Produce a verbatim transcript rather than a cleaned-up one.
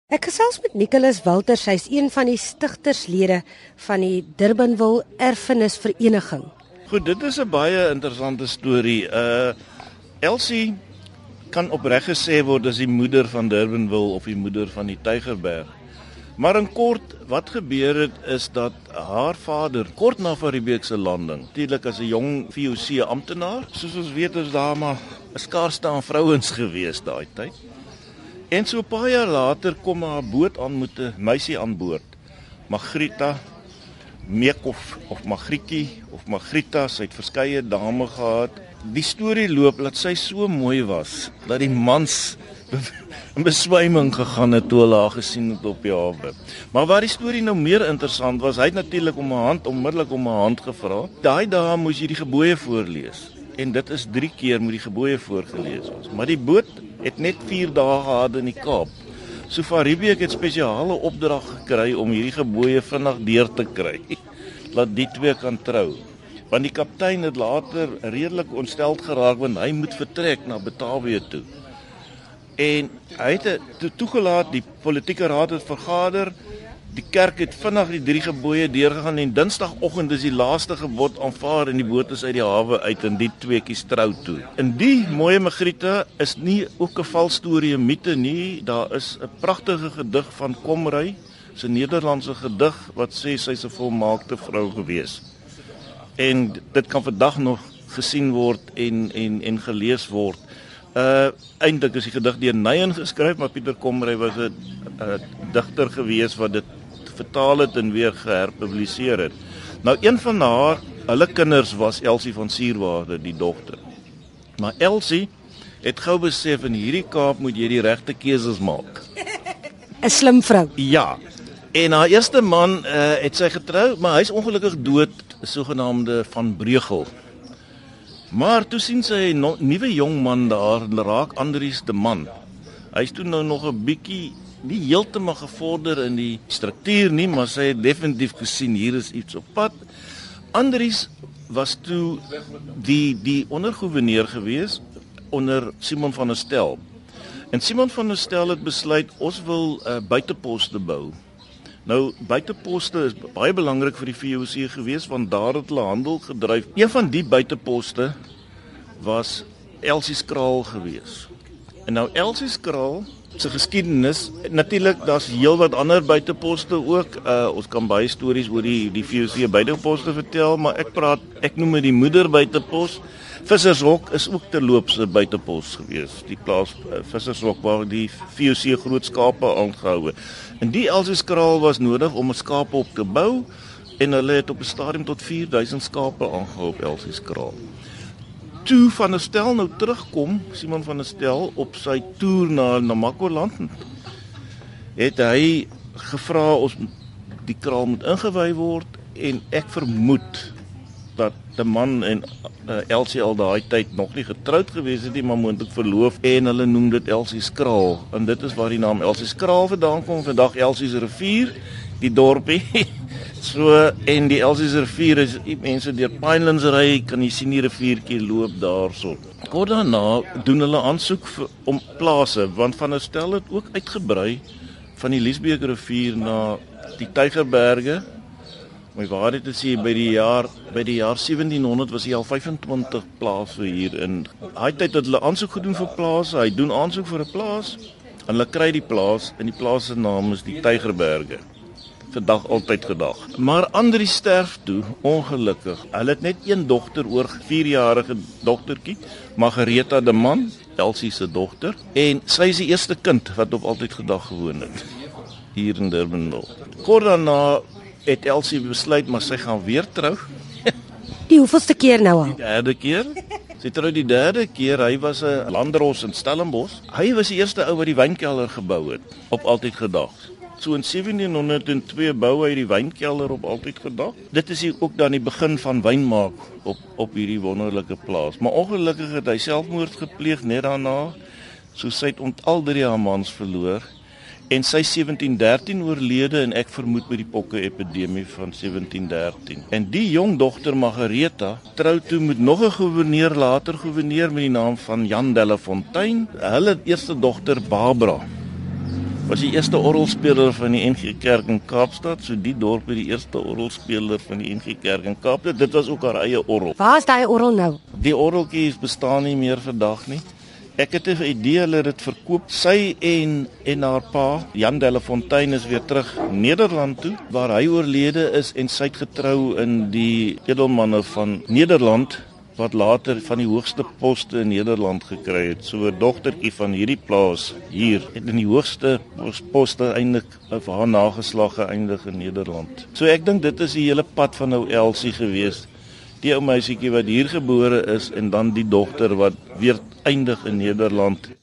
Ek gesels met Nicholas Walters, hy is een van die stigterslede van die Durbanville Erfenisvereniging. Goed, dit is 'n baie interessante storie. Uh Elsie kan opreg gesê word as die moeder van Durbanville of die moeder van die Tygerberg. Maar in kort, wat gebeur het is dat haar vader, kort na Van Riebeeck se landing, natuurlik as 'n jong V O C amptenaar, soos ons weet is daar maar 'n skaarste aan vrouens gewees daai tyd. En so 'n paar jaar later kom haar boot aan met 'n meisie aan boord, Margrita Meekhoff of Magrietjie of Margrita, sy het verskeie dame gehad. Die storie loop dat sy so mooi was dat die mans in beswyming gegaan het toe hulle haar gesien het op die hawe. Maar waar die storie nou meer interessant was, hy het natuurlik om 'n hand onmiddellik om 'n hand gevra. Daai dae moes jy die gebooie voorlees. En dit is drie keer moet die gebooie voorgelees word. Maar die boot het net vier dae gehad in die Kaap. So Van Riebeeck het spesiale opdrag gekry om hierdie gebooie vinnig deur te kry. Laat die twee kan trou. Want die kaptein het later redelik ontsteld geraak want hy moet vertrek na Batavia toe. En hy het toe toegelaat, die politieke raad het vergader, die kerk het vinnig die drie gebooie deurgegaan en dinsdagoggend is die laaste gebod aanvaar en die boot is uit die hawe uit en die tweeetjies trou toe. En die mooie Margrita is nie ook 'n valstorie, 'n mite nie, daar is 'n pragtige gedig van Komrij, 'n Nederlandse gedig wat sê sy's 'n volmaakte vrou gewees. En dit kan vandag nog gesien word en en en gelees word. Uh eintlik is die gedig deur Neyen geskryf, maar Pieter Komrij was 'n uh, digter gewees wat dit vertaal het en weer geherpubliseer het. Nou een van haar, hulle kinders was Elsie van Sierwaarde, die dogter. Maar Elsie het gou besef in hierdie Kaap moet jy die regte keuses maak. 'n Slim vrou. Ja. En haar eerste man uh, het sy getrou, maar hy's ongelukkig dood, 'n sogenaamde Van Breugel. Maar toe sien sy 'n no, nuwe jong man daar, raak Andries de Man. Hy's toe nou nog 'n bietjie nie heeltemal gevorder in die struktuur nie, maar sy het definitief gesien hier is iets op pad. Andries was toe die die ondergouverneur gewees onder Simon van der Stel. En Simon van der Stel het besluit ons wil 'n uh, buiteposte bou. Nou buiteposte is baie belangrik vir die V O C gewees want daar het hulle handel gedryf. Een van die buiteposte was Elsie Skraal gewees. En nou Elsie Skraal se geskiedenis, natuurlik daar's heelwat ander buiteposte ook. Uh, ons kan baie stories oor die die V O C buiteposte vertel, maar ek praat ek noem dit die moeder buitepos. Vissershok is ook terloops 'n buitepos gewees. Die plaas uh, Vissershok waar die V O C groot skape aangehou het. En die Elsie Skraal was nodig om 'n skape op te bou en hulle het op 'n stadium tot vier duisend skape aangehou op Elsie Skraal. Toe Van der Stel nou terugkom, Simon van der Stel op sy toer na Namakoland, het hy gevra ons die kraal moet ingewy word en ek vermoed dat die man en uh, Elsie al daai tyd nog nie getroud gewees het nie, maar moontlik verloof en hulle noem dit Elsie Skraal en dit is waar die naam Elsie Skraal vandaan kom. Vandag Elsie se rivier, die dorpie. So en die Elsie se rivier is mense deur Pinelands ry, kan jy sien die riviertjie loop daarso. Kort daarna doen hulle aansoek vir, om plase want Van der Stel het ook uitgebrei van die Liesbeek rivier na die Tygerberge. My waarheid te sê by die jaar by die jaar sewentienhonderd was hy al vyfentwintig plase hier in. Hy tyd het hulle aansoek gedoen vir plase. Hy doen aansoek vir 'n plaas en hulle kry die plaas en die plaas se naam is die Tygerberge. Vandag altyd gedag. Maar Andries sterf toe ongelukkig. Hulle het net een dogter oor vierjarige dogtertjie, Margareta de Man, Elsie se dogter, en sy is die eerste kind wat op altyd gedag gewoon het hier in Durbanville. Kort daarna het Elsie besluit maar sy gaan weer trou. Die hoeveelste keer nou al? Die derde keer. Sy trou die derde keer. Hy was 'n landros in Stellenbosch. Hy was die eerste ou wat die wynkelder gebou het op altyd gedag. So in sewentienhonderd twee bou hy die wynkelder op altyd gedag. Dit is ook dan die begin van wynmaak op op hierdie wonderlike plaas. Maar ongelukkig het hy selfmoord gepleeg net daarna. So sy het ont al drie haar mans verloor. En sy sewentien dertien oorlede en ek vermoed by die pokke-epidemie van sewentien dertien. En die jong dogter Margareta trou toe met nog 'n gouverneur, later gouverneur met die naam van Jan Delafontein. Hulle eerste dogter Barbara Was die eerste orgelspeler van die N G Kerk in Kaapstad, so die dorp het die eerste orgelspeler van die N G Kerk in Kaapstad. Dit was ook haar eie orgel. Waar is daai orgel nou? Die orgeltjies bestaan nie meer vandag nie. Ek het 'n idee hulle dit verkoop. Sy en en haar pa, Jan Delafontein, is weer terug Nederland toe, waar hy oorlede is en sy het getrou in die edelmanne van Nederland, wat later van die hoogste poste in Nederland gekry het. So 'n dogtertjie van hierdie plaas hier het in die hoogste poste eintlik of haar nageslag geëindig in Nederland. So ek dink dit is die hele pad van nou Elsie gewees. Die ou meisietjie wat hier gebore is en dan die dogter wat weer eindig in Nederland.